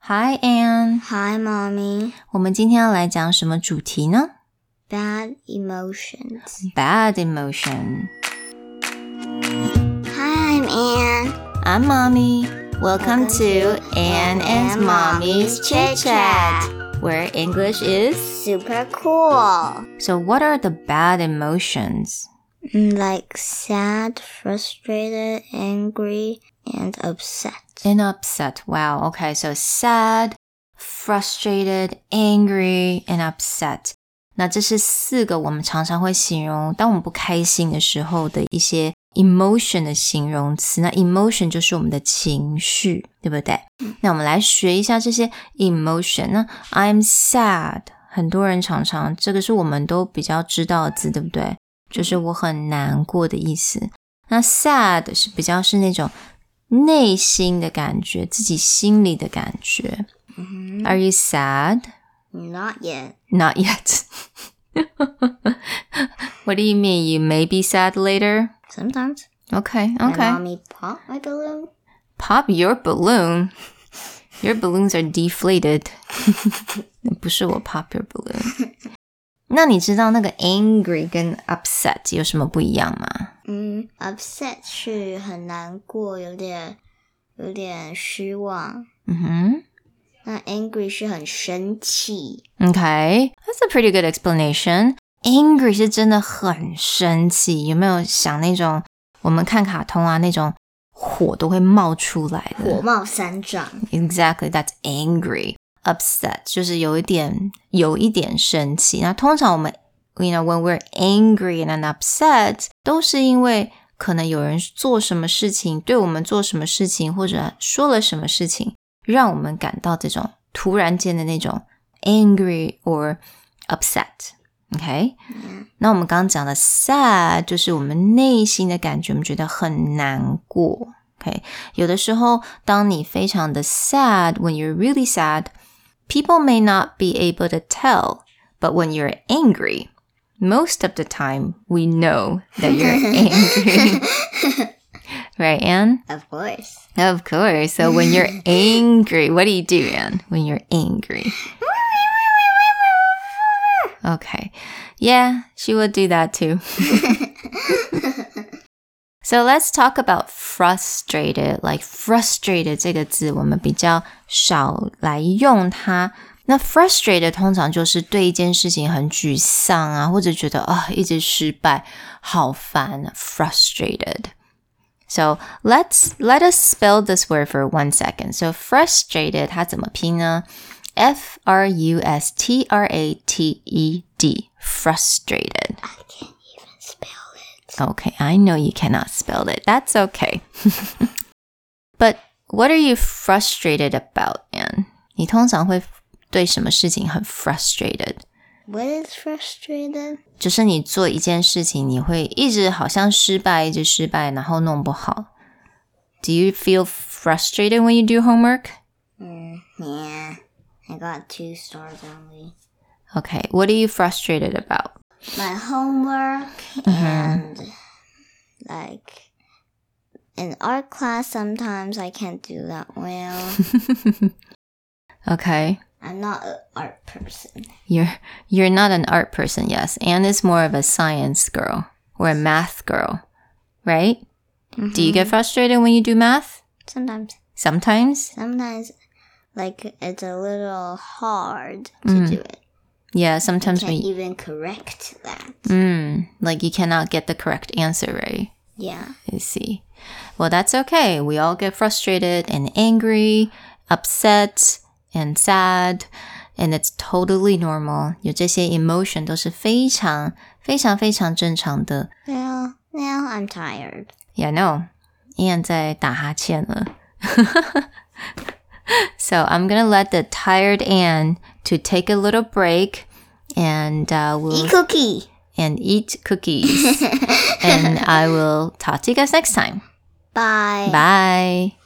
Hi, Anne. Hi, Mommy. 我们今天要来讲什么主题呢？ Bad emotions. Bad emotion. Hi, I'm Anne. I'm Mommy. Welcome to Anne and Mommy's Chit Chat, where English is Super cool. So what are the bad emotions? Like sad, frustrated, angry, and upset. And upset. Wow. Okay, so sad, frustrated, angry, and upset. 那这是4个我们常常会形容当我们不开心的时候的一些 emotion 的形容词。那 emotion 就是我们的情绪，对不对？那我们来学一下这些 emotion。那 I'm sad， 很多人常常这个是我们都比较知道的字，对不对？就是我很难过的意思。那 sad 是比较是那种内心的感觉，自己心里的感觉。Are you sad? Not yet. Not yet. What do you mean? You may be sad later? Sometimes. Okay. My mommy pop my balloon. Pop your balloon. Your balloons are deflated. 不是我 pop your balloon. 那你知道那个 angry 跟 upset 有什么不一样吗 Upset 是很难过，有点失望。那 angry 是很生气。 Okay, that's a pretty good explanation. Angry 是真的很生气，有没有想那种我们看卡通啊，那种火都会冒出来的， 火冒三丈。 Exactly, that's angry. Upset 就是有一点生气。那通常我们 when we're angry and upset 都是因为可能有人做什么事情，对我们做什么事情，或者说了什么事情，让我们感到这种突然间的那种 angry or upset. Okay? 那我们刚刚讲的 sad 就是我们内心的感觉，我们觉得很难过。Okay? 有的时候当你非常的 sad, when you're really sad, people may not be able to tell, but when you're angry, most of the time we know that you're angry. Right, Anne? Of course. Of course. So when you're angry, what do you do, Anne, when you're angry? Okay. Yeah, she would do that too. So let's talk about frustrated. Like frustrated 这个字我们比较少来用它。那 frustrated 通常就是对一件事情很沮丧啊，或者觉得一直失败，好烦 frustrated. So let us spell this word for 1 second. So frustrated 它怎么拼呢？ F-R-U-S-T-R-A-T-E-D. Frustrated. I can't even spell it. Okay, I know you cannot spell it. That's okay. But what are you frustrated about, Anne? 你通常会对什么事情很 frustrated? What is frustrated? 就是你做一件事情，你会一直好像失败，然后弄不好。Do you feel frustrated when you do homework? Yeah. I got 2 stars only. Okay, what are you frustrated about? My homework and like in art class sometimes I can't do that well. Okay. I'm not an art person. You're not an art person, yes. Anne is more of a science girl or a math girl, right? Do you get frustrated when you do math? Sometimes. Sometimes? Like it's a little hard to do it. Yeah, sometimes You can't even correct that. like you cannot get the correct answer, right? Yeah. I see. Well, that's okay. We all get frustrated and angry, upset, and sad, and it's totally normal. 有这些 emotion 都是非常正常的。 Well, now I'm tired. Yeah, no. Anne 在打哈欠了。So I'm going to let the tired Anne to take a little break and we'll Eat cookies. And I will talk to you guys next time. Bye. Bye.